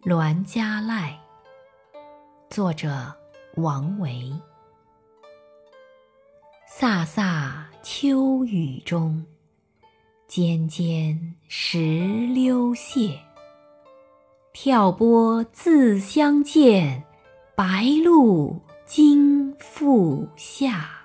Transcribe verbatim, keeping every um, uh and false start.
栾家赖，作者王维。飒飒秋雨中，尖尖石榴谢。挑拨自相见，白露经复下。